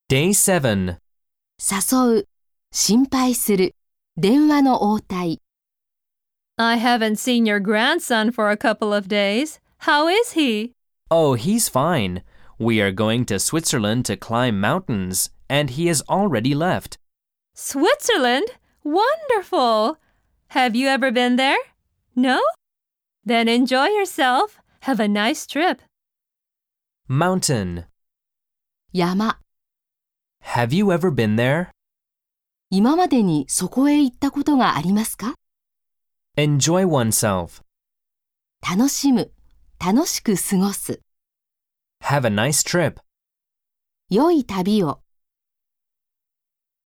Day 7. 誘う、心配する、電話の応対。 I haven't seen your grandson for a couple of days. How is he? Oh, he's fine. We are going to Switzerland to climb mountains, and he has already left. Switzerland? Wonderful! Have you ever been there? No? Then enjoy yourself. Have a nice trip. Mountain. 山、 Have you ever been there? 今までにそこへ行ったことがありますか？ Enjoy oneself. 楽しむ、楽しく過ごす。 Have a nice trip. 良い旅を。